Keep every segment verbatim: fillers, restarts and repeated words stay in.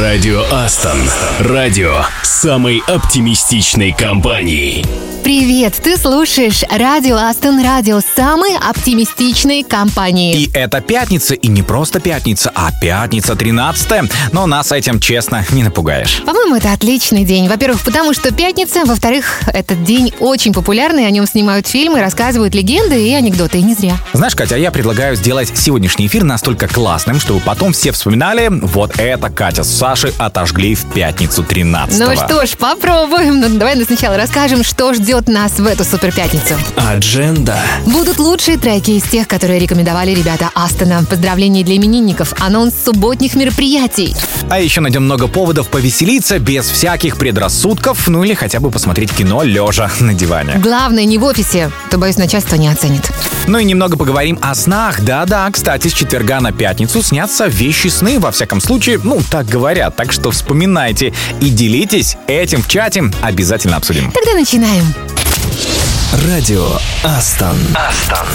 Радио Астон. Радио самой оптимистичной компании. Привет, ты слушаешь Радио Астон, радио самой оптимистичной компании. И это пятница, и не просто пятница, а пятница тринадцатая. Но нас этим, честно, не напугаешь. По-моему, это отличный день. Во-первых, потому что пятница. Во-вторых, этот день очень популярный. О нем снимают фильмы, рассказывают легенды и анекдоты. И не зря. Знаешь, Катя, я предлагаю сделать сегодняшний эфир настолько классным, чтобы потом все вспоминали: вот это Катя с Сашей отожгли в пятницу тринадцатого. Ну что ж, попробуем. Ну, давай сначала расскажем, что ждет нас в эту суперпятницу. Адженда. Будут лучшие треки из тех, которые рекомендовали ребята Астона. Поздравления для именинников, анонс субботних мероприятий. А еще найдем много поводов повеселиться без всяких предрассудков, ну или хотя бы посмотреть кино лежа на диване. Главное, не в офисе, то, боюсь, начальство не оценит. Ну и немного поговорим о снах. Да-да, кстати, с четверга на пятницу снятся вещи сны, во всяком случае, ну, так говорят. Так что вспоминайте и делитесь этим в чате. Обязательно обсудим. Тогда начинаем. Радио Астон. Астон.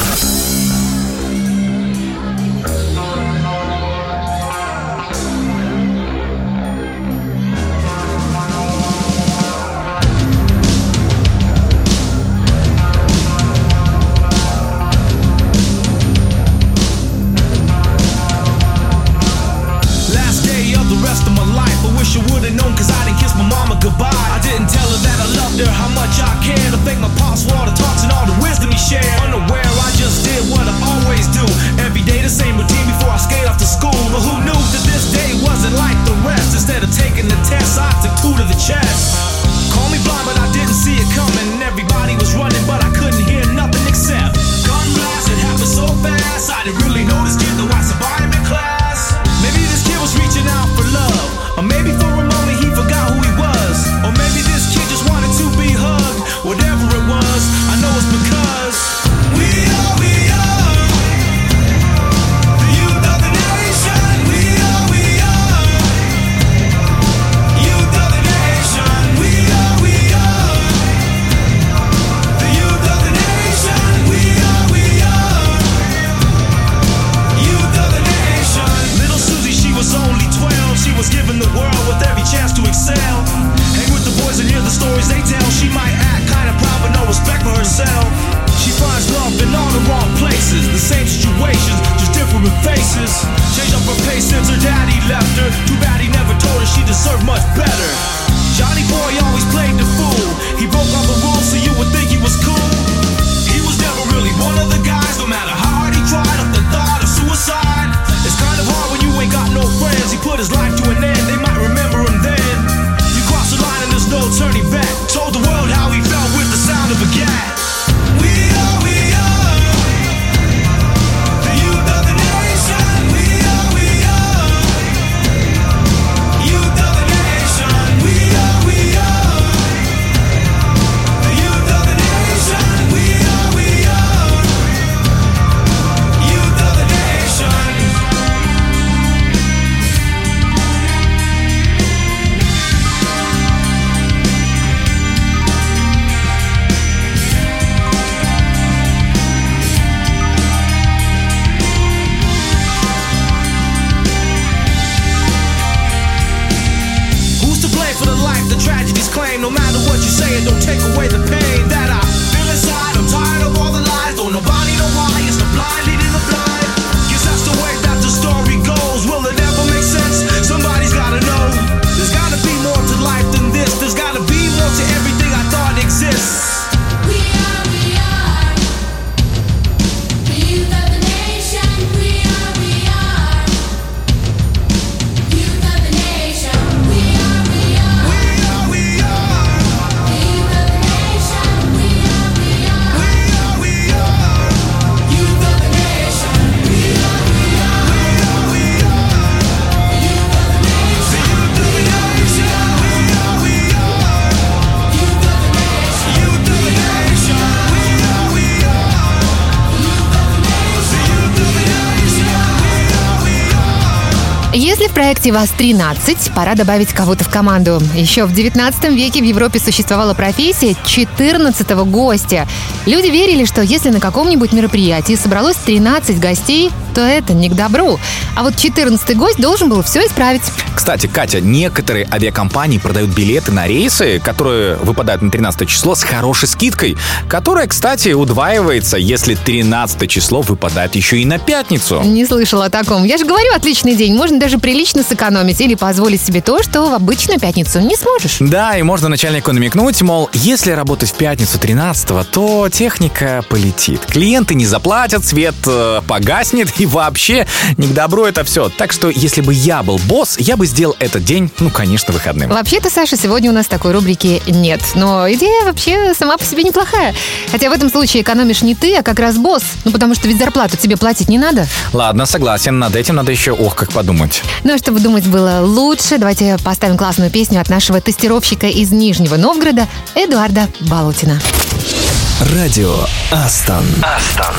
Если в проекте вас тринадцать, пора добавить кого-то в команду. Еще в девятнадцатом веке в Европе существовала профессия четырнадцатого гостя. Люди верили, что если на каком-нибудь мероприятии собралось тринадцать гостей, то это не к добру. А вот четырнадцатый гость должен был все исправить. Кстати, Катя, некоторые авиакомпании продают билеты на рейсы, которые выпадают на тринадцатое число, с хорошей скидкой, которая, кстати, удваивается, если тринадцатое число выпадает еще и на пятницу. Не слышала о таком. Я же говорю, отличный день. Можно даже прилично сэкономить или позволить себе то, что в обычную пятницу не сможешь. Да, и можно начальнику намекнуть, мол, если работать в пятницу тринадцатого, то техника полетит. Клиенты не заплатят, свет э, погаснет, и вообще не к добру это все. Так что, если бы я был босс, я бы сделал этот день, ну, конечно, выходным. Вообще-то, Саша, сегодня у нас такой рубрики нет. Но идея вообще сама по себе неплохая. Хотя в этом случае экономишь не ты, а как раз босс. Ну, потому что ведь зарплату тебе платить не надо. Ладно, согласен, над этим надо еще, ох, как подумать. Ну, а чтобы думать было лучше, давайте поставим классную песню от нашего тестировщика из Нижнего Новгорода Эдуарда Балутина. Радио Астон. Астон.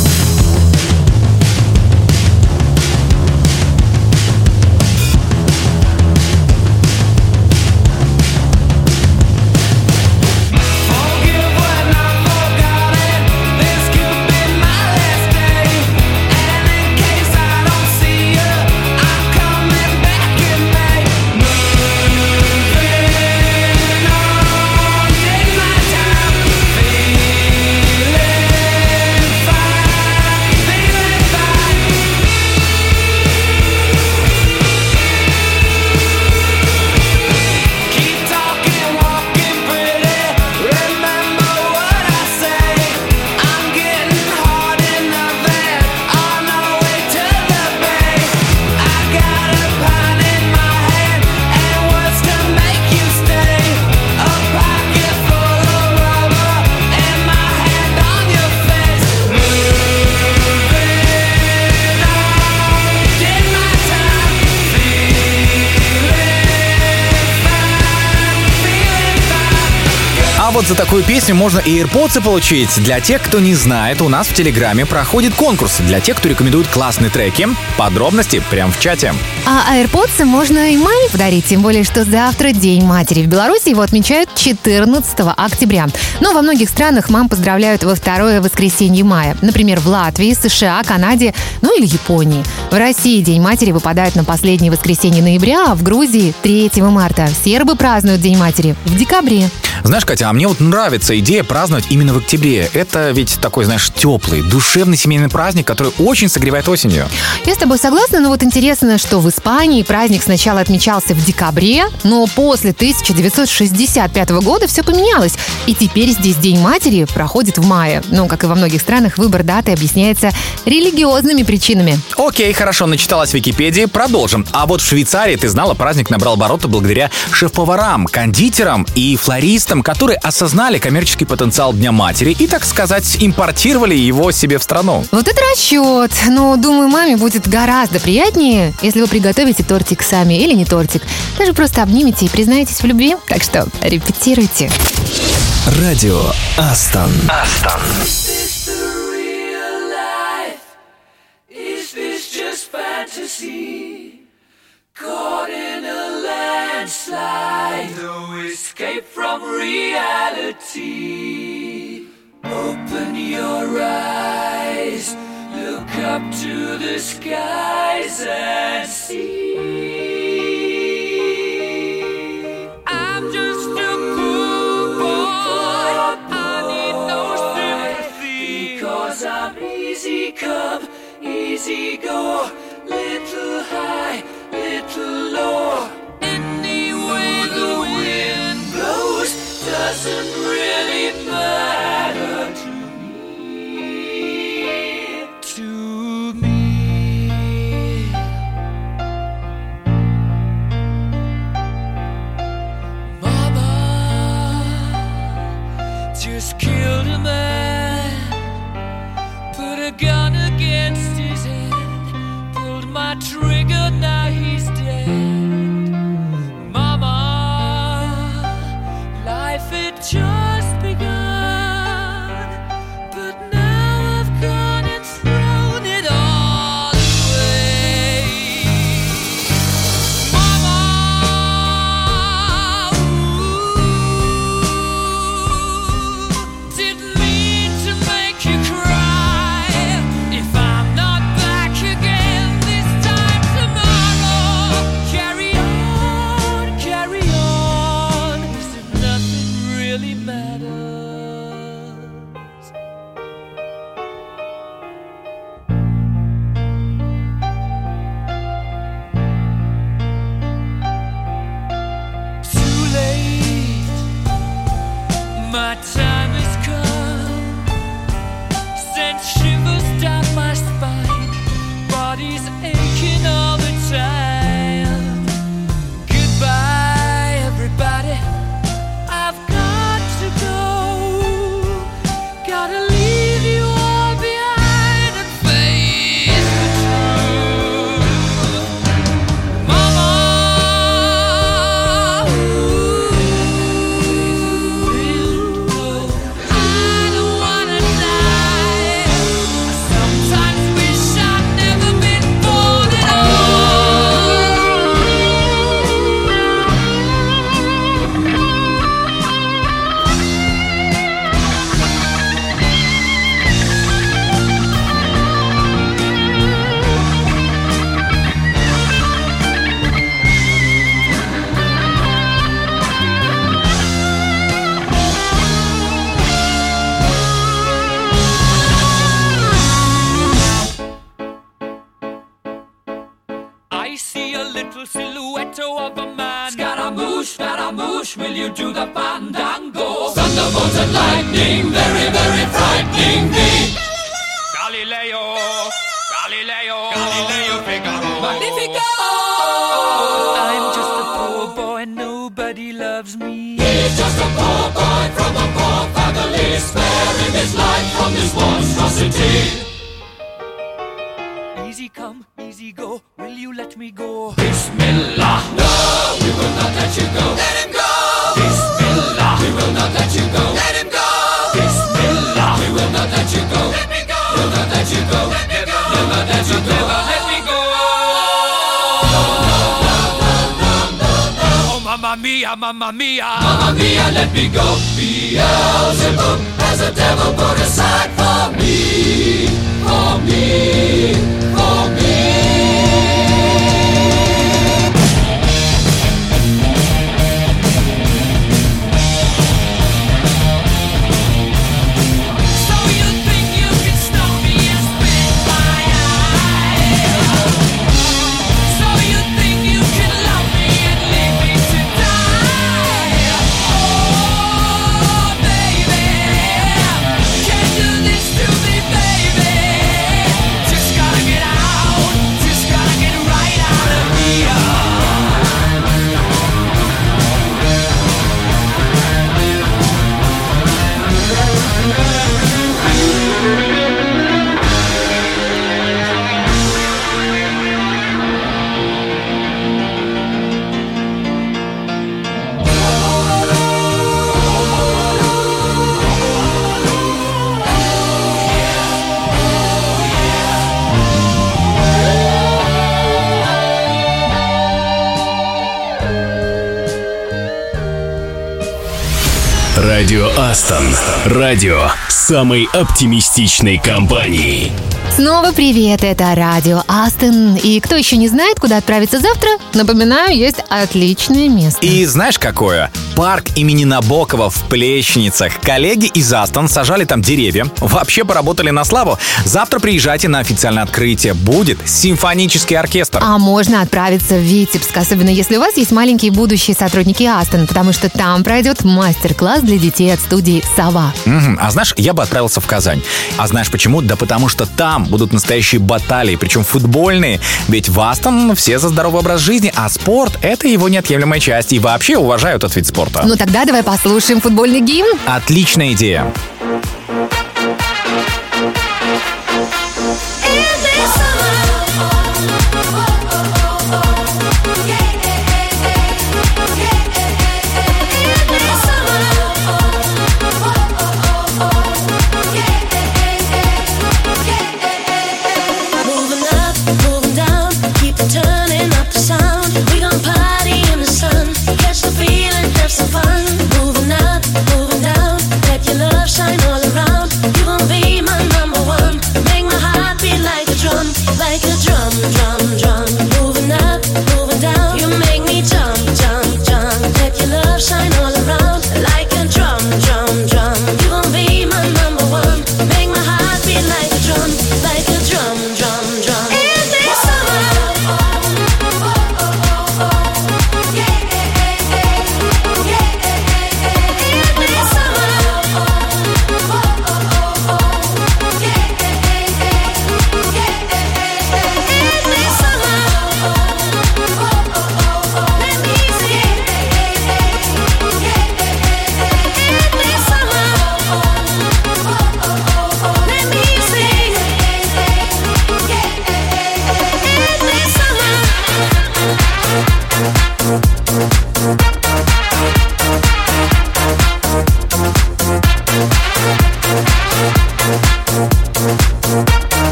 Вот за такую песню можно и AirPods получить. Для тех, кто не знает, у нас в Телеграме проходит конкурс. Для тех, кто рекомендует классные треки. Подробности прямо в чате. А AirPods можно и маме подарить, тем более, что завтра День матери. В Беларуси его отмечают четырнадцатого октября. Но во многих странах мам поздравляют во второе воскресенье мая. Например, в Латвии, США, Канаде, ну или Японии. В России День матери выпадает на последнее воскресенье ноября, а в Грузии третьего марта. Сербы празднуют День матери в декабре. Знаешь, Катя, а мне вот нравится идея праздновать именно в октябре. Это ведь такой, знаешь, теплый, душевный семейный праздник, который очень согревает осенью. Я с тобой согласна, но вот интересно, что в Испании праздник сначала отмечался в декабре, но после тысяча девятьсот шестьдесят пятого года все поменялось. И теперь здесь День матери проходит в мае. Ну, как и во многих странах, выбор даты объясняется религиозными причинами. Окей, хорошо, начиталась в Википедии, продолжим. А вот в Швейцарии, ты знала, праздник набрал обороты благодаря шеф-поварам, кондитерам и флористам, которые осознали коммерческий потенциал Дня матери и, так сказать, импортировали его себе в страну. Вот это расчет. Но, думаю, маме будет гораздо приятнее, если вы приготовите тортик сами или не тортик. Даже просто обнимете и признаетесь в любви. Так что репетируйте. Радио Астон. Астон. Caught in a landslide, no escape from reality. Open your eyes, look up to the skies and see. I'm just a poor boy, I need no sympathy, because I'm easy come, easy go, little high, little low. Any way the wind blows doesn't really matter to me. To me. Mama just killed a man, put a gun against his head, pulled my trigger, now he's dead. Mama, life had just begun. I see a little silhouette of a man. Scaramouche, Scaramouche, will you do the fandango? Thunderbolt and lightning, very, very frightening me. Galileo, Galileo, Galileo Figaro. Magnifico! I'm just a poor boy, nobody loves me. He's just a poor boy from a poor family, sparing his life from this monstrosity. Easy come, easy go, will you let me go? Bismillah, no, we will not let you go. Let him go! Bismillah, we will not let you go. Let him go! Bismillah, we will not let you go. Let me go! We'll not let you go. Let me go! Never let you go. Never let me go. No, no, no, no, no, no, no. Oh, mamma mia, mamma mia. Mamma mia, let me go. Beelzebub has a devil put aside for me. For me. For me. Радио Астон. Радио самой оптимистичной компании. Снова привет, это радио Астон. И кто еще не знает, куда отправиться завтра, напоминаю, есть отличное место. И знаешь какое? Парк имени Набокова в Плещеницах. Коллеги из Астон сажали там деревья. Вообще поработали на славу. Завтра приезжайте на официальное открытие. Будет симфонический оркестр. А можно отправиться в Витебск, особенно если у вас есть маленькие будущие сотрудники Астон, потому что там пройдет мастер-класс для детей от студии «Сова». Угу. А знаешь, я бы отправился в Казань. А знаешь почему? Да потому что там будут настоящие баталии, причем футбольные. Ведь в Астон все за здоровый образ жизни, а спорт — это его неотъемлемая часть. И вообще уважают этот вид спорта. Ну тогда давай послушаем футбольный гимн. Отличная идея.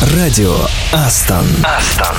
Радио Астон. Астон.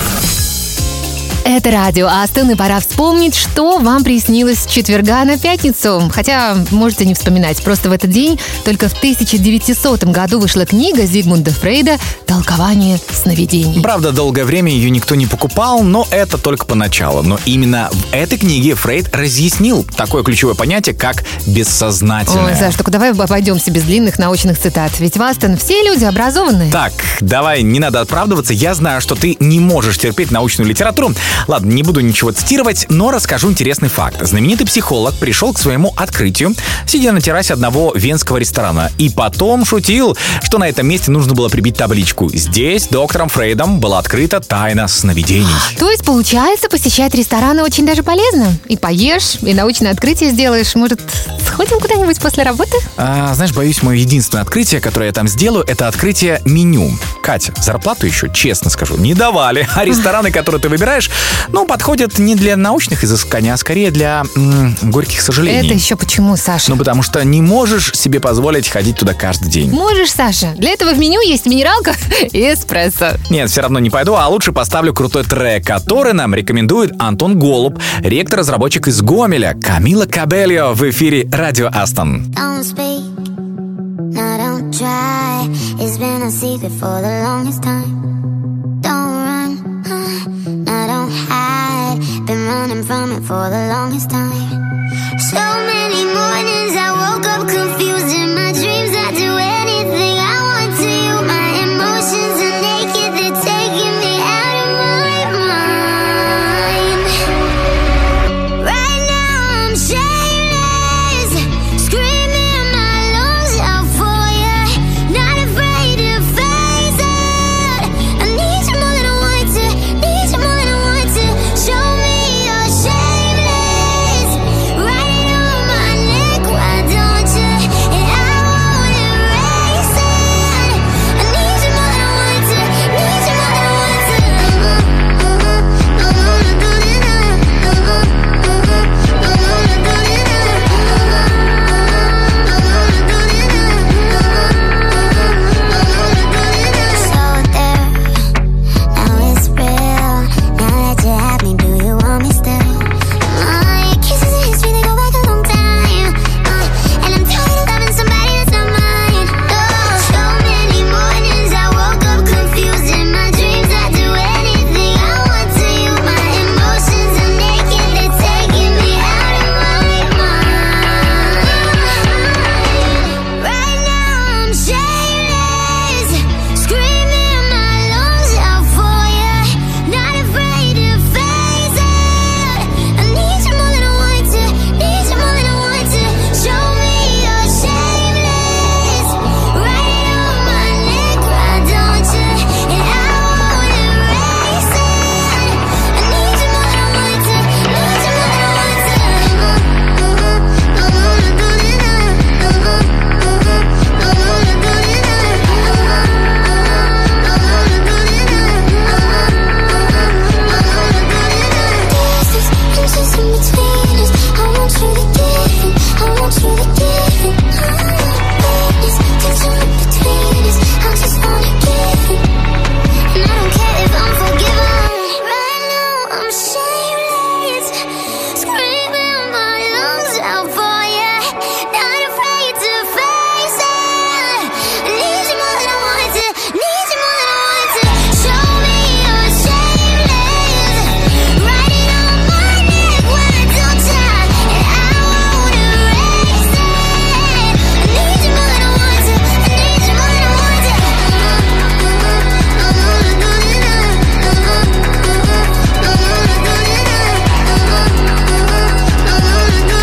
Это радио Астон, и пора вспомнить, что вам приснилось с четверга на пятницу. Хотя можете не вспоминать, просто в этот день только в тысяча девятисотом году вышла книга Зигмунда Фрейда «Толкование сновидений». Правда, долгое время ее никто не покупал, но это только поначалу. Но именно в этой книге Фрейд разъяснил такое ключевое понятие, как бессознательное. Ой, Саш, только давай обойдемся без длинных научных цитат. Ведь в Астон все люди образованные. Так, давай, не надо оправдываться. Я знаю, что ты не можешь терпеть научную литературу. Ладно, не буду ничего цитировать, но расскажу интересный факт. Знаменитый психолог пришел к своему открытию, сидя на террасе одного венского ресторана, и потом шутил, что на этом месте нужно было прибить табличку: «Здесь доктором Фрейдом была открыта тайна сновидений». То есть, получается, посещать рестораны очень даже полезно? И поешь, и научное открытие сделаешь. Может, сходим куда-нибудь после работы? А, знаешь, боюсь, мое единственное открытие, которое я там сделаю, это открытие меню. Катя, зарплату еще, честно скажу, не давали. А рестораны, которые ты выбираешь, ну, подходят не для научных изысканий, а скорее для м- горьких сожалений. Это еще почему, Саша? Ну, потому что не можешь себе позволить ходить туда каждый день. Можешь, Саша. Для этого в меню есть минералка и эспрессо. Нет, все равно не пойду, а лучше поставлю крутой трек, который нам рекомендует Антон Голуб, ректор-разработчик из Гомеля, Камила Кабельо в эфире Радио Астон. Don't speak, no, don't try. It's been a secret for the longest time. Don't run, no, don't hide. Been running from it for the longest time. So many mornings I woke up confused. In my dreams I do anything I want to you. My emotions are naked, they're taking me out of my mind. Right now I'm shameless, screaming my lungs out for you. Not afraid to face it. I need you more than I want to, need you more than I want to. Show me you're shameless. Write it on my neck, why don't you? And I won't erase it. I need you more than I want to, need you more than I want to. I wanna do it now. I wanna do it now. I wanna do it now. I wanna do it now. So there, now it's real. Now that you have me, do you want me still? My kisses and history, they go back a long time. Uh, and I'm tired of loving somebody that's not mine. Oh, so many mornings I woke up confused. In my dreams I do anything I want to you. My emotions are naked, they're taking me out of my mind. Right now I'm shameless, screaming my lungs out for you. Not afraid to face it. I need you more than I want to, need you more than I want to. Show me you're shameless. Write it on my neck, why don't you? And I won't erase it. I need you more than I want to, need you more than I want to. I wanna do it now. I wanna do it now. I wanna do it now. I wanna do it now. Distance, inches in between us. I want you to give it, I want you to give it. Witness, tension in between us. I just wanna give it. And I don't care if I'm forgiven. Right now I'm shameless, screaming my lungs out for you. Not afraid to face it. I need you more than I want to, need you more than I want to. Show me you're shameless. Write it on my neck, why don't you? And I won't erase it. I need you more than I want to, I need you more than I want to. I wanna do it now. I wanna do it now. I wanna do it now. I wanna do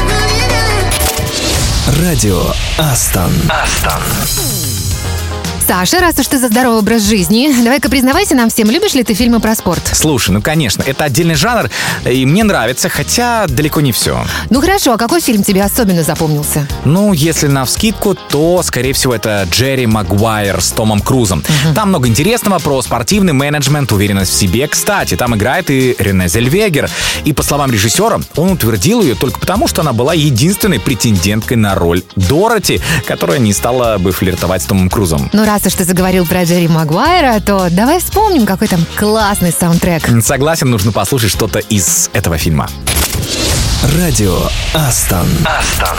it now. Радио Астон. Астон. Саша, раз уж ты за здоровый образ жизни, давай-ка признавайся нам всем, любишь ли ты фильмы про спорт? Слушай, ну конечно, это отдельный жанр, и мне нравится, хотя далеко не все. Ну хорошо, а какой фильм тебе особенно запомнился? Ну, если навскидку, то, скорее всего, это Джерри Магуайр с Томом Крузом. Uh-huh. Там много интересного про спортивный менеджмент, уверенность в себе. Кстати, там играет и Рене Зельвегер. И, по словам режиссера, он утвердил ее только потому, что она была единственной претенденткой на роль Дороти, которая не стала бы флиртовать с Томом Крузом. Ну, раз уж ты заговорил про Джерри Магуайра, то давай вспомним, какой там классный саундтрек. Согласен, нужно послушать что-то из этого фильма. Радио Астон. Астон.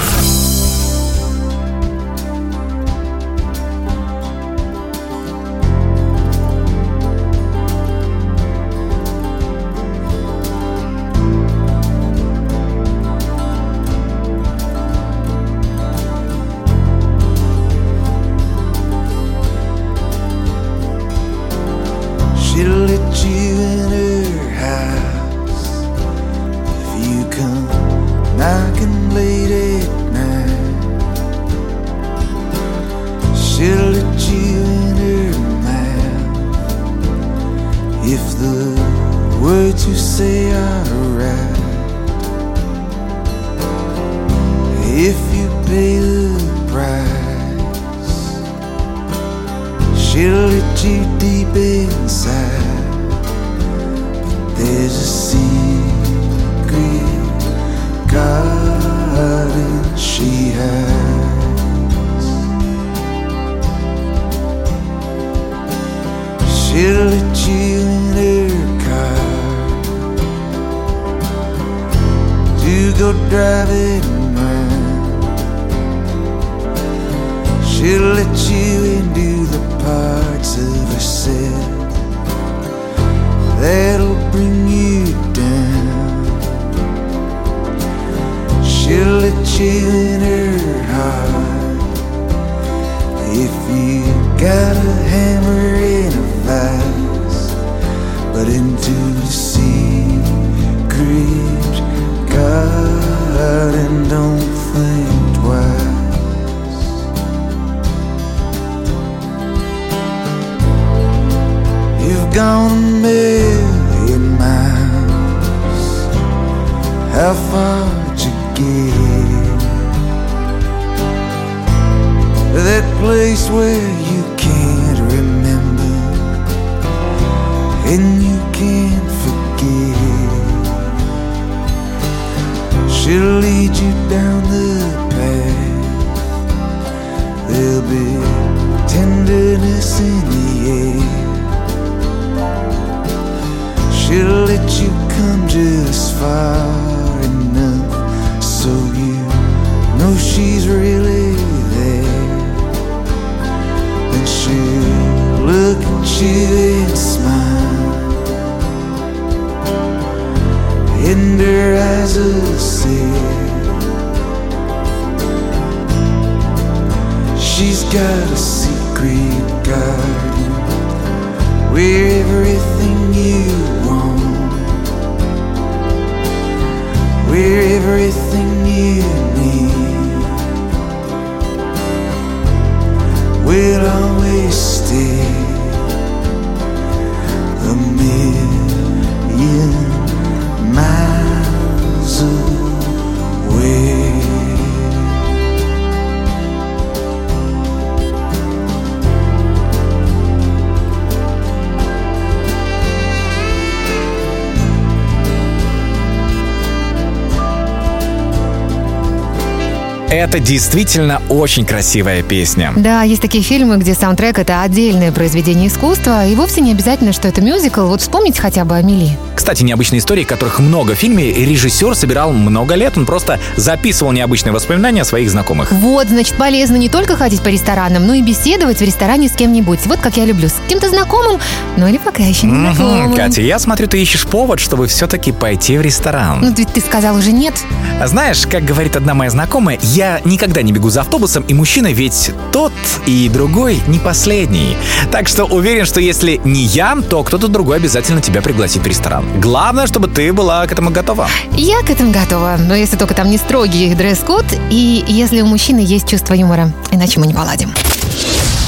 Это действительно очень красивая песня. Да, есть такие фильмы, где саундтрек — это отдельное произведение искусства, и вовсе не обязательно, что это мюзикл. Вот вспомните хотя бы «Амели». Кстати, необычные истории, которых много в фильме, режиссер собирал много лет. Он просто записывал необычные воспоминания о своих знакомых. Вот, значит, полезно не только ходить по ресторанам, но и беседовать в ресторане с кем-нибудь. Вот как я люблю, с кем-то знакомым, ну или пока еще не знакомым. Угу, Катя, я смотрю, ты ищешь повод, чтобы все-таки пойти в ресторан. Ну, ведь ты сказал уже нет. А знаешь, как говорит одна моя знакомая, я никогда не бегу за автобусом, и мужчина ведь тот и другой не последний. Так что уверен, что если не я, то кто-то другой обязательно тебя пригласит в ресторан. Главное, чтобы ты была к этому готова. Я к этому готова, но если только там не строгий дресс-код, и если у мужчины есть чувство юмора, иначе мы не поладим.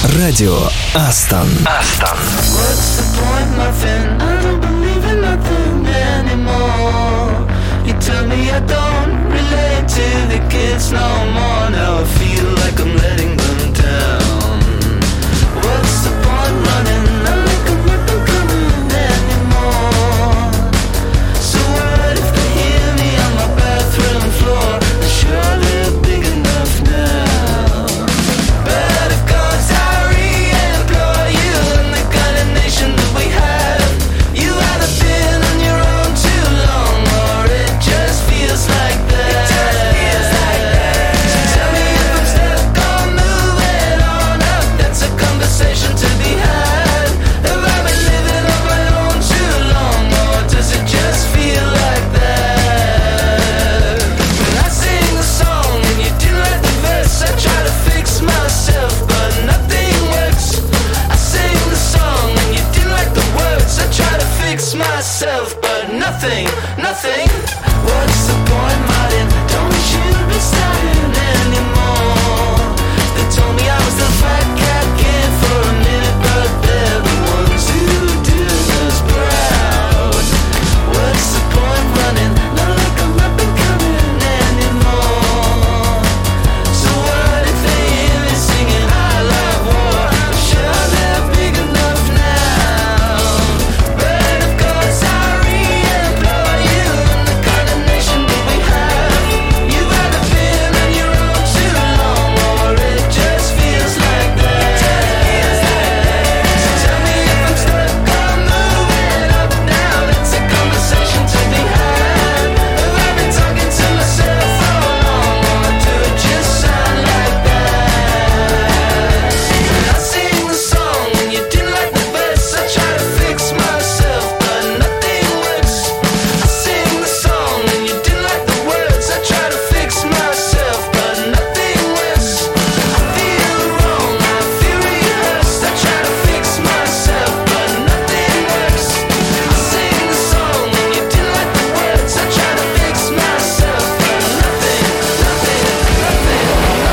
Радио Астон. Астон. What's the point, Muffin? I don't believe in nothing anymore. You tell me I don't relate to the kids no more. Now I feel like I'm letting them down. What's the point running? I make them nothing coming anymore. So what if they hear me on my bathroom floor? I'm sure they're big enough now. But if God's re-employ you in the kind of nation that we have, you either been on your own too long, or it just feels like that. It just feels like that. So tell me if I'm stuck on moving on up. That's a conversation to be had. Have I been living on my own too long, or does it just feel like that? When I sing the song and you didn't like the verse, I try to fix myself, but nothing works. I sing the song and you didn't like the words, I try to fix myself, but nothing, nothing. What's the point, Martin? Don't we should be starting anymore. They told me I was the fat cat kid for a minute, but they're the ones who do us proud. What's the point running? Not like I'm up and coming anymore. So what if they hear me singing I love war? I'm sure they're big enough now. But of course I re-employ you in the kind of nation that we have. You've either been on your own too long, or it just feels like that. So tell me if I'm stuck on moving up now. It's a conversation to be had. Have I been talking to myself for long, or do it just sound like that? When I sing the song and you didn't like the verse, I try to fix myself, but nothing works. I sing the song and you didn't like the words, I try to fix myself, but nothing works. I feel wrong, I feel rehearsed, I try to fix myself, but nothing works. I sing the song and you didn't like the words, I try to fix myself, but nothing, nothing, nothing,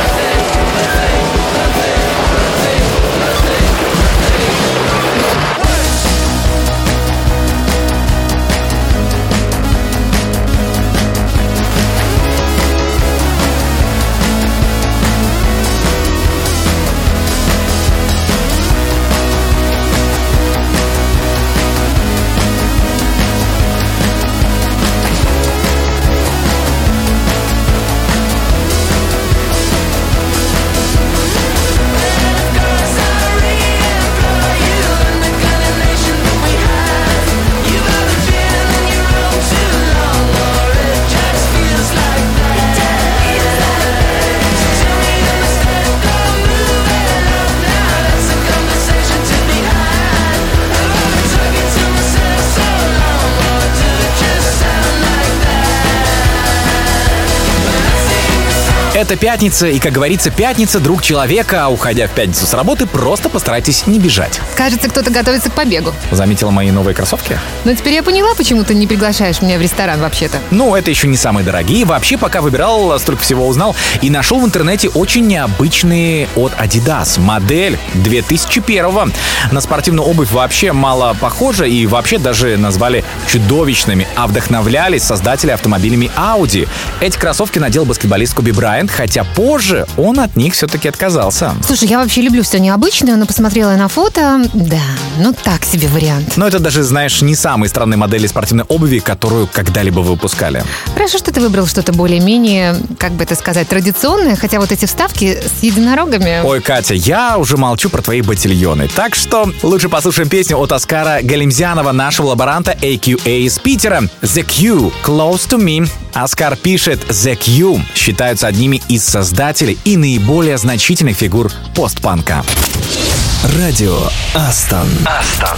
Это пятница, и, как говорится, пятница — друг человека, а уходя в пятницу с работы, просто постарайтесь не бежать. Кажется, кто-то готовится к побегу. Заметила мои новые кроссовки? Но теперь я поняла, почему ты не приглашаешь меня в ресторан вообще-то. Ну, это еще не самые дорогие. Вообще, пока выбирал, столько всего узнал. И нашел в интернете очень необычные от Adidas. Модель две тысячи первого. На спортивную обувь вообще мало похожа. И вообще даже назвали чудовищными. А вдохновлялись создатели автомобилями Audi. Эти кроссовки надел баскетболист Коби Брайант. Хотя позже он от них все-таки отказался. Слушай, я вообще люблю все необычное, но посмотрела на фото. Да, ну так себе вариант. Но это даже, знаешь, не самые странные модели спортивной обуви, которую когда-либо выпускали. Хорошо, что ты выбрал что-то более-менее, как бы это сказать, традиционное, хотя вот эти вставки с единорогами... Ой, Катя, я уже молчу про твои ботильоны. Так что лучше послушаем песню от Оскара Галимзянова, нашего лаборанта эй кью эй из Питера. The Q, Close to Me. Оскар пишет: The Q считаются одними из создателей и наиболее значительных фигур постпанка. Радио Астон. Астон.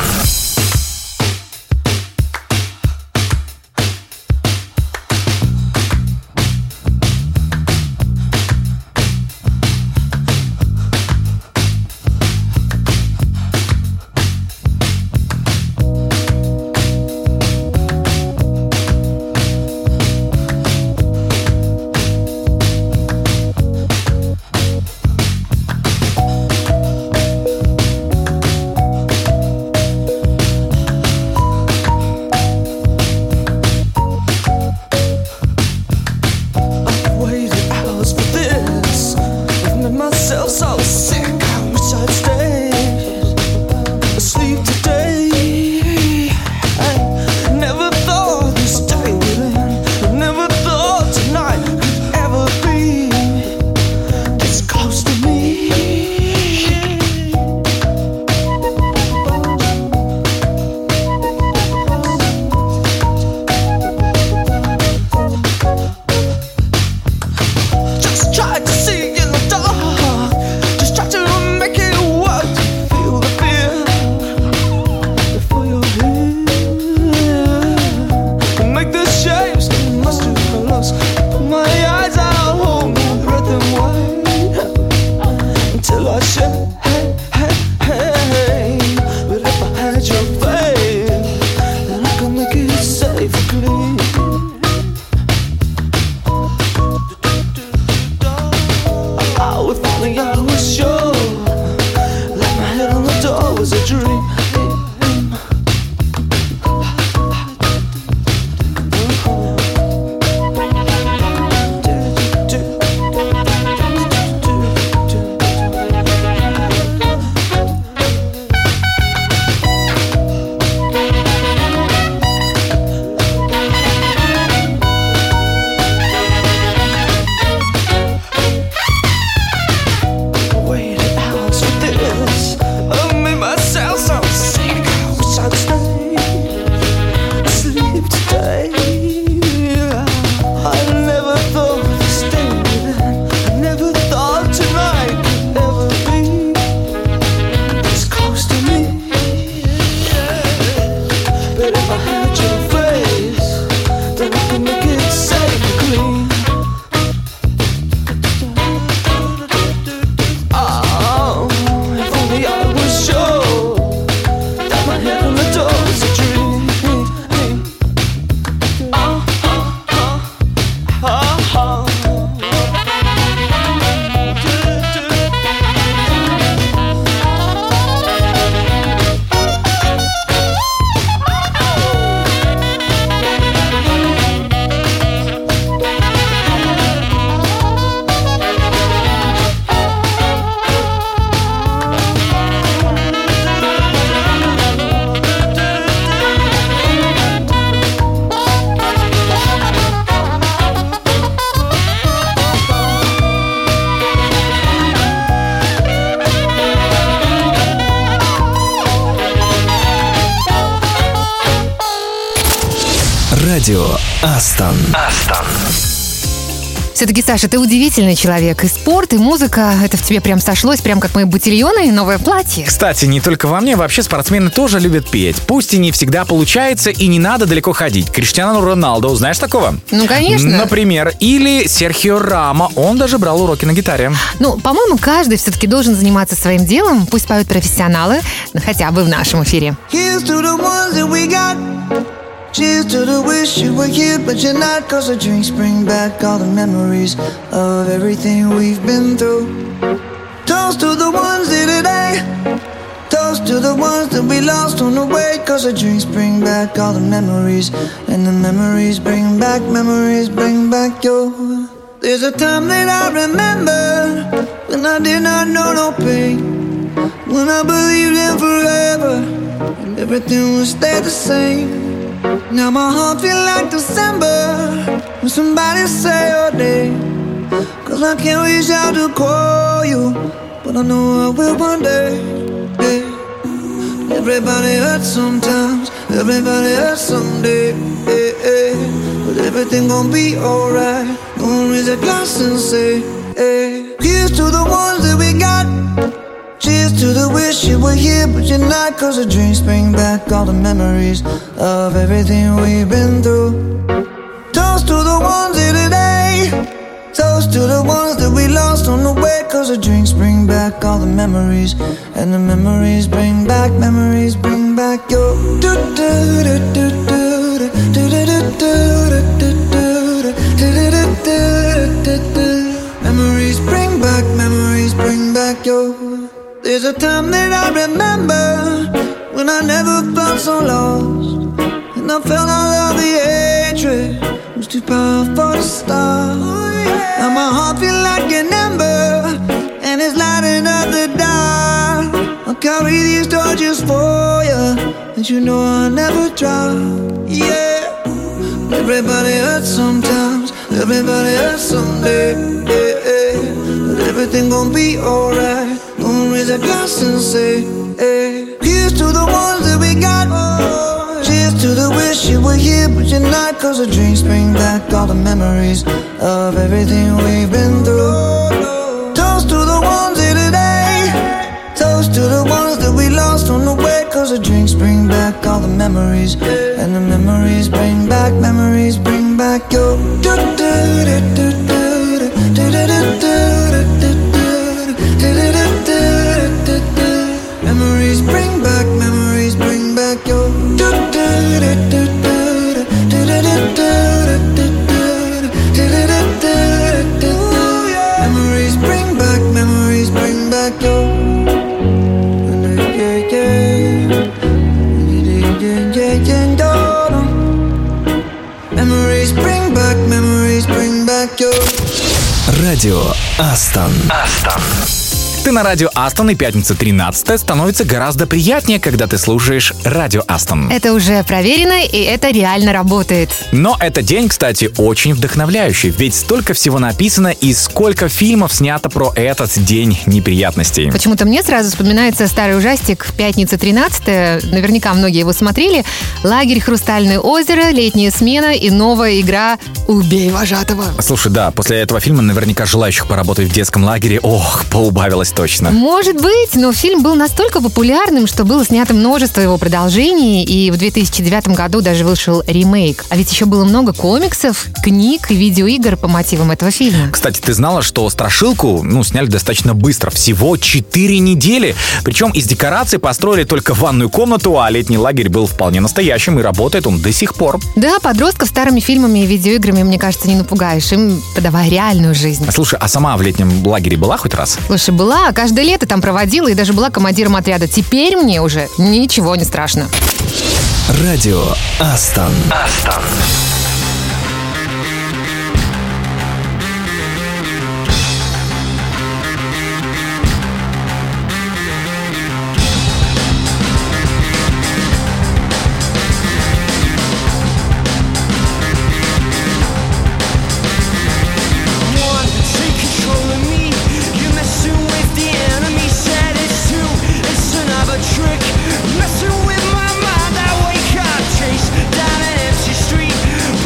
Радио Астон. Астон. Все-таки, Саша, ты удивительный человек. И спорт, и музыка, это в тебе прям сошлось, прям как мои ботильоны и новое платье. Кстати, не только во мне, вообще спортсмены тоже любят петь. Пусть и не всегда получается, и не надо далеко ходить. Криштиану Роналду, знаешь такого? Ну, конечно. Например, или Серхио Рамо, он даже брал уроки на гитаре. Ну, по-моему, каждый все-таки должен заниматься своим делом, пусть поют профессионалы, ну, хотя бы в нашем эфире. Here's to the ones that we got. Cheers to the wish you were here, but you're not. Cause the drinks bring back all the memories of everything we've been through. Toast to the ones here today. Toast to the ones that we lost on the way. Cause the drinks bring back all the memories. And the memories bring back, memories bring back your. There's a time that I remember when I did not know no pain. When I believed in forever and everything would stay the same. Now my heart feel like December when somebody say your name. Cause I can't reach out to call you, but I know I will one day, yeah. Everybody hurts sometimes, everybody hurts someday, yeah, yeah. But everything gon' be alright. Gonna raise a glass and say, hey. Here's to the ones that we got. Cheers to the wish you were here, but you're not. Cause the drinks bring back all the memories of everything we've been through. Toast to the ones here today. Toast to the ones that we lost on the way. Cause the drinks bring back all the memories. And the memories bring back, memories bring back your. Memories bring back, memories bring back your. There's a time that I remember when I never felt so lost, and I felt all of the hatred was too powerful to stop. Now my heart feel like an ember, and it's lighting up the dark. I'll carry these torches for you, and you know I'll never drop. Yeah, everybody hurts sometimes, everybody hurts someday, yeah, yeah. But everything gon' be alright. Gonna raise a glass and say, hey. Here's to the ones that we got. Cheers to the wish you were here, but you're not. Cause the drinks bring back all the memories of everything we've been through. Toast to the ones here today. Toast to the ones that we lost on the way. Cause the drinks bring back all the memories. And the memories bring back, memories bring back your. Memories bring back, memories bring back your. Memories bring back, memories bring back your. Memories bring back, memories bring back your. Радио Астон. Астон. Ты на радио Астон, и пятница тринадцатое становится гораздо приятнее, когда ты слушаешь радио Астон. Это уже проверено, и это реально работает. Но этот день, кстати, очень вдохновляющий, ведь столько всего написано и сколько фильмов снято про этот день неприятностей. Почему-то мне сразу вспоминается старый ужастик «Пятница тринадцатое». Наверняка многие его смотрели. «Лагерь Хрустальное озеро», «Летняя смена» и новая игра «Убей вожатого». Слушай, да, после этого фильма наверняка желающих поработать в детском лагере, ох, поубавилось точно. Может быть, но фильм был настолько популярным, что было снято множество его продолжений, и в две тысячи девятом году даже вышел ремейк. А ведь еще было много комиксов, книг и видеоигр по мотивам этого фильма. Кстати, ты знала, что «Страшилку» ну, сняли достаточно быстро, всего четыре недели. Причем из декораций построили только ванную комнату, а летний лагерь был вполне настоящим, и работает он до сих пор. Да, подростков старыми фильмами и видеоиграми, мне кажется, не напугаешь, им подавай реальную жизнь. Слушай, а сама в летнем лагере была хоть раз? Слушай, была, каждое лето там проводила и даже была командиром отряда. Теперь мне уже ничего не страшно. Радио Астон. Астон. Messing with my mind, I wake up, chase down an empty street.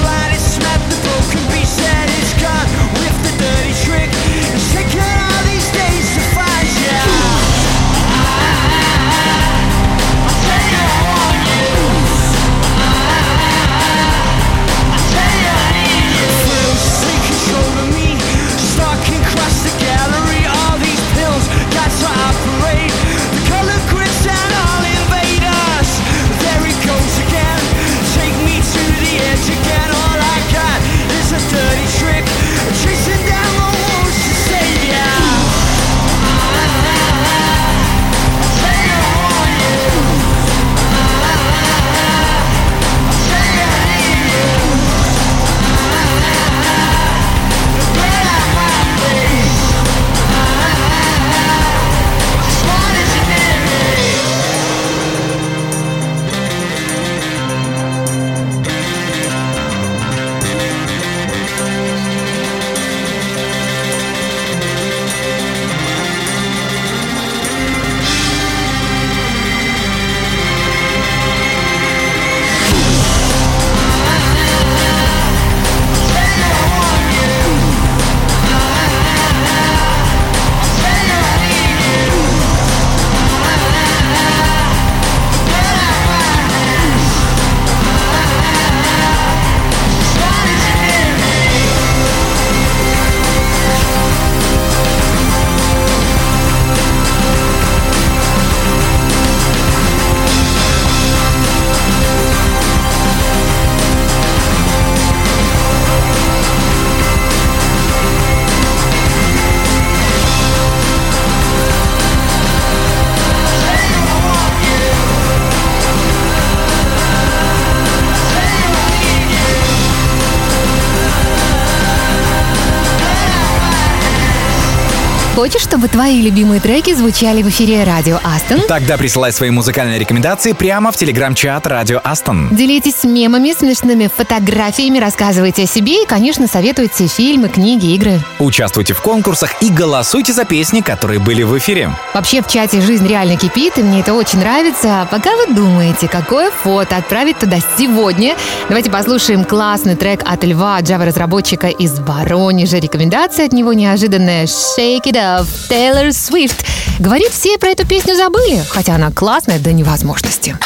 Хочешь, чтобы твои любимые треки звучали в эфире Радио Астон? Тогда присылай свои музыкальные рекомендации прямо в телеграм-чат Радио Астон. Делитесь мемами, смешными фотографиями, рассказывайте о себе и, конечно, советуйте фильмы, книги, игры. Участвуйте в конкурсах и голосуйте за песни, которые были в эфире. Вообще в чате жизнь реально кипит, и мне это очень нравится. А пока вы думаете, какое фото отправить туда сегодня, давайте послушаем классный трек от Льва, Java-разработчика из Воронежа. Рекомендация от него неожиданная «Shake It Up» Тейлор Свифт. Говорит, все про эту песню забыли, хотя она классная до невозможности.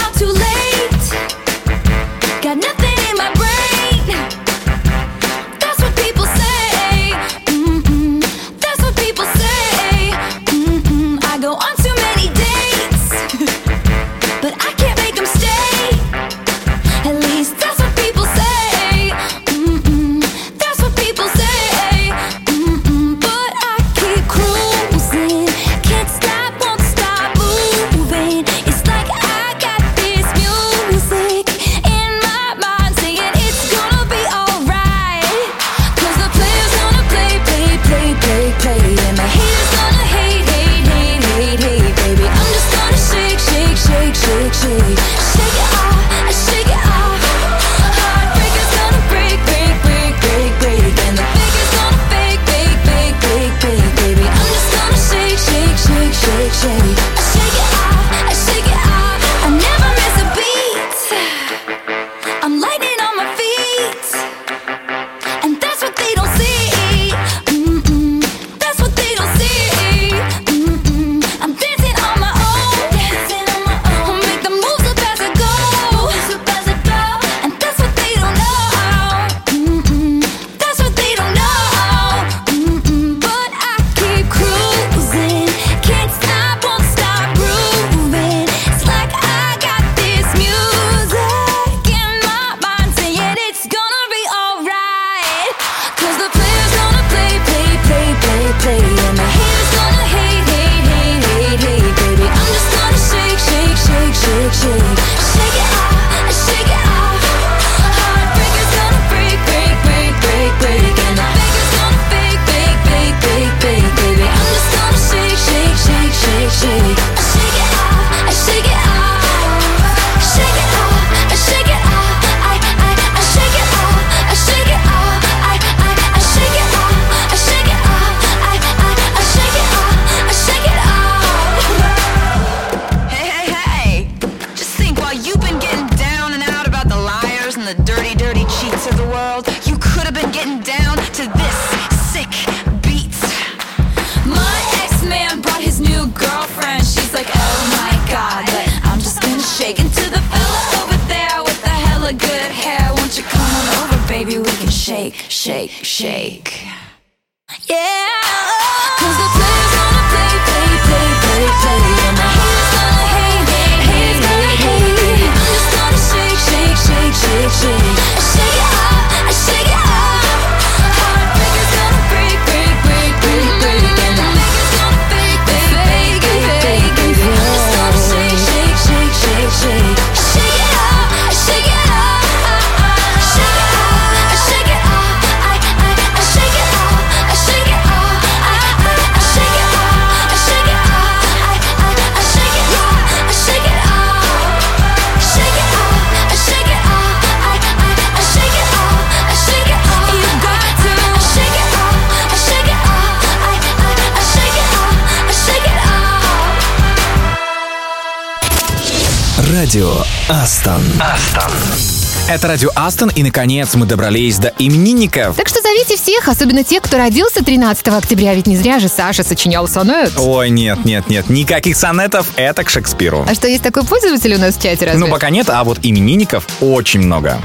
Радио Астон. Астон. Это Радио Астон, и, наконец, мы добрались до именинников. Так что зовите всех, особенно тех, кто родился тринадцатого октября, ведь не зря же Саша сочинял сонет. Ой, нет, нет, нет, никаких сонетов, это к Шекспиру. А что, есть такой пользователь у нас в чате, разве? Ну, пока нет, а вот именинников очень много.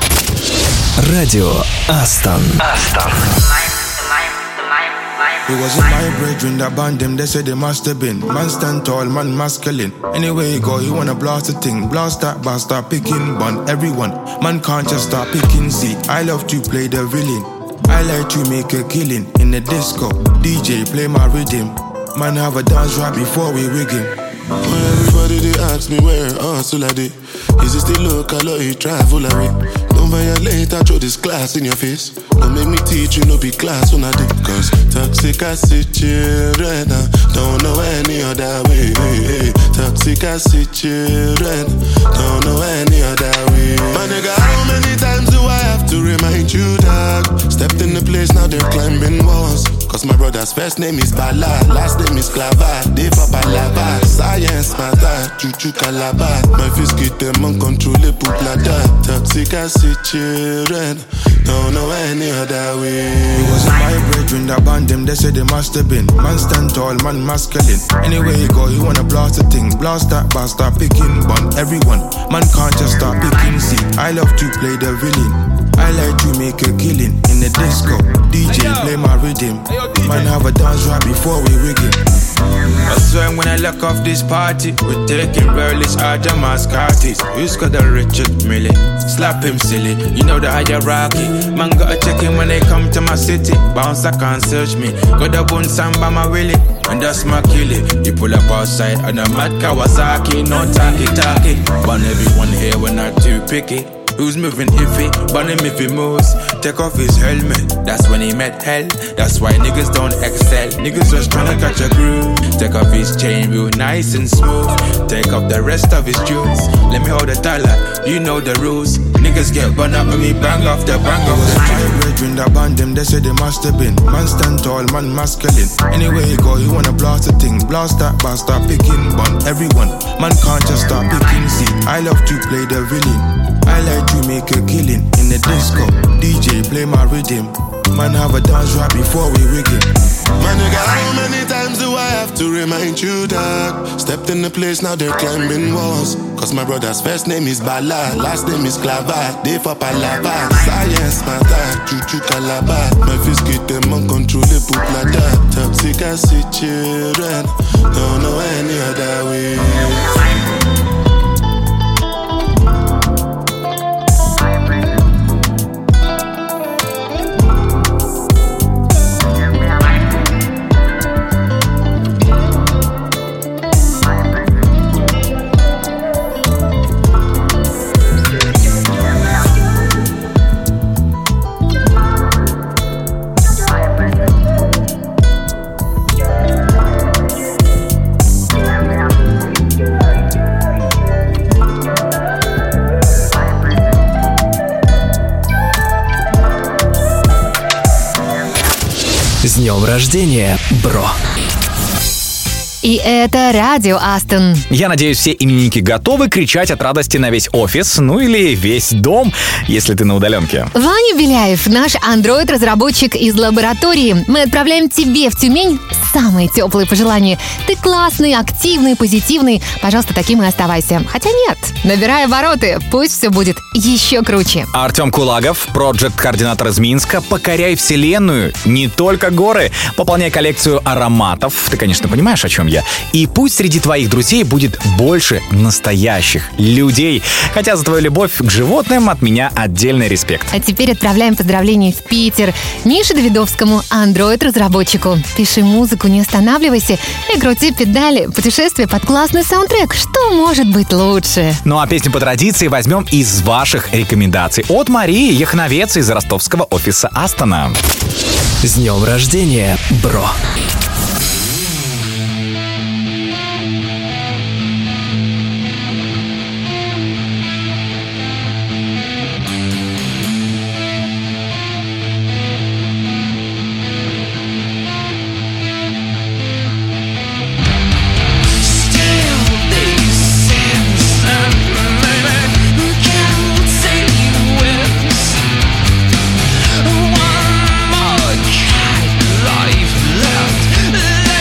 Радио Астон. Астон. It wasn't my brethren that banned them, they said they must have been. Man stand tall, man masculine. Anywhere you go, you wanna blast a thing. Blast that bar, start picking bun. Everyone, man can't just start picking. See, I love to play the villain. I like to make a killing in the disco. D J, play my rhythm. Man, have a dance right before we rig him. When everybody they ask me where hustle I did. Is it still local or you travel away? Don't violate, I throw this glass in your face. Don't make me teach you, no be class when I do. Cause toxic acid children, don't know any other way. Toxic acid children, don't know any other way. My nigga, how many times do I have to remind you, dog? Stepped in the place, now they're climbing walls. Cause my brother's first name is Bala, last name is Clava. They for Balaba, science matter, Chuchu Calabar. My fist get them uncontrollable bladder. Toxic acid children, don't know any other way. It wasn't my brethren that banned them, they said they must have been. Man stand tall, man masculine. Anywhere you go, you wanna blast a thing. Blast that bar, start picking, bun everyone. Man can't just start picking, see. I love to play the villain. I like to make a killing in the disco. D J play my rhythm. Man have a dance right before we rig it. I swear when I look off this party, we're taking relish out of mascatis. Who's got the Richard Millie? Slap him silly, you know the hierarchy. Man gotta check him when they come to my city. Bounce, I can't search me. Got the bone samba my willy, and that's my killie. You pull up outside on a mad Kawasaki, no talkie talkie. But everyone here we're not too picky. Who's moving iffy, but him if he moves. Take off his helmet, that's when he met hell. That's why niggas don't excel. Niggas just tryna catch a groove. Take off his chain real nice and smooth. Take off the rest of his jewels. Let me hold the dollar, you know the rules. Niggas get burned up when me bang off the bang off the my brethren that banned them, they said they must have been. Man stand tall, man masculine. Anywhere you go, you wanna blast a thing. Blast that bar, start picking, bun everyone. Man can't just start picking, see. I love to play the villain. I like to make a killing in the disco. D J play my rhythm. Man have a dance right before we rig it. My nigga, how many times do I have to remind you, dog? Stepped in the place, now they're climbing walls. Cause my brother's first name is Bala, last name is Clava. They for Palava, science matter, Chuchu Calabar. My fist get them uncontrollable bladder. Toxic acid children, don't know any other way. С днем рождения, бро! И это радио Астон. Я надеюсь, все именинники готовы кричать от радости на весь офис, ну или весь дом, если ты на удаленке. Ваня Беляев, наш андроид-разработчик из лаборатории. Мы отправляем тебе в Тюмень самые теплые пожелания. Ты классный, активный, позитивный. Пожалуйста, таким и оставайся. Хотя нет, набирай обороты, пусть все будет еще круче. Артем Кулагов, проджект-координатор из Минска. Покоряй вселенную, не только горы. Пополняй коллекцию ароматов. Ты, конечно, понимаешь, о чем я. И пусть среди твоих друзей будет больше настоящих людей. Хотя за твою любовь к животным от меня отдельный респект. А теперь отправляем поздравления в Питер Мише Давидовскому, андроид-разработчику. Пиши музыку, не останавливайся и крути педали. Путешествие под классный саундтрек. Что может быть лучше? Ну а песню по традиции возьмем из ваших рекомендаций. От Марии Яхновец из ростовского офиса Астона. С днем рождения, бро! One more cat life left.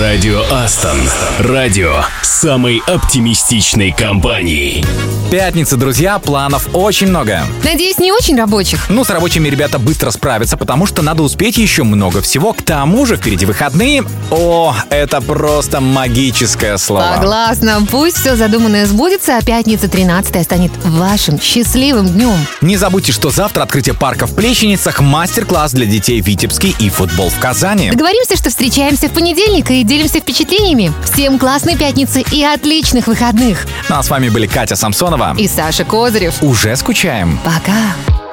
Радио Астон. Радио самой оптимистичной компании. Пятница, друзья, планов очень много. Надеюсь, не очень рабочих. Ну, с рабочими ребята быстро справятся, потому что надо успеть еще много всего. К тому же впереди выходные. О, это просто магическое слово. Согласна. Пусть все задуманное сбудется, а пятница тринадцатое станет вашим счастливым днем. Не забудьте, что завтра открытие парка в Плещеницах, мастер-класс для детей в Витебске и футбол в Казани. Договоримся, что встречаемся в понедельник и делимся впечатлениями. Всем классной пятницы и отличных выходных. Ну а с вами были Катя Самсонова и Саша Козырев. Уже скучаем. Пока.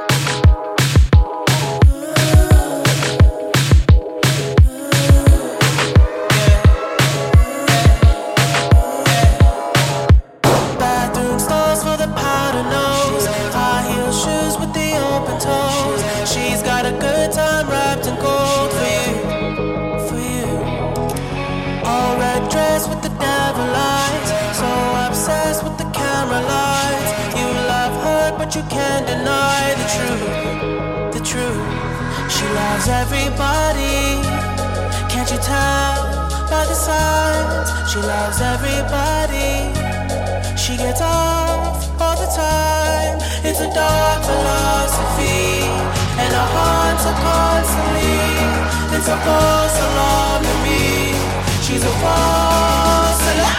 You can't deny the truth, the truth. She loves everybody. Can't you tell by the signs? She loves everybody. She gets off all the time. It's a dark philosophy, and her haunts are constantly. It's a false alarm to me. She's a false alarm.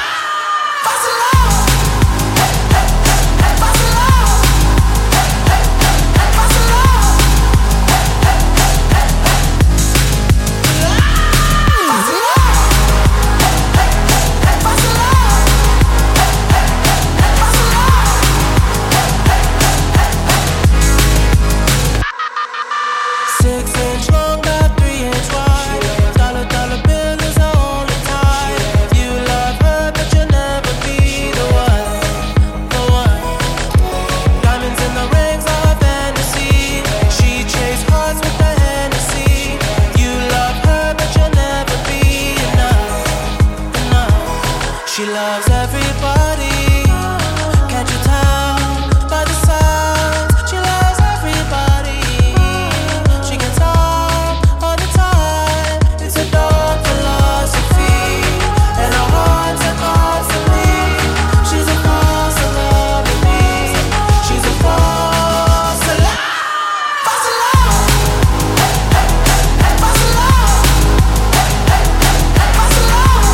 She loves everybody. Can't you tell by the signs? She loves everybody. She gets off all the time. It's a dark philosophy, and her heart's are constantly. She's a false alarm to me. She's a false alarm. False alarm. False alarm. False alarm.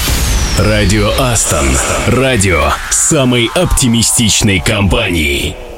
Радио Астон. Радио самой оптимистичной компании.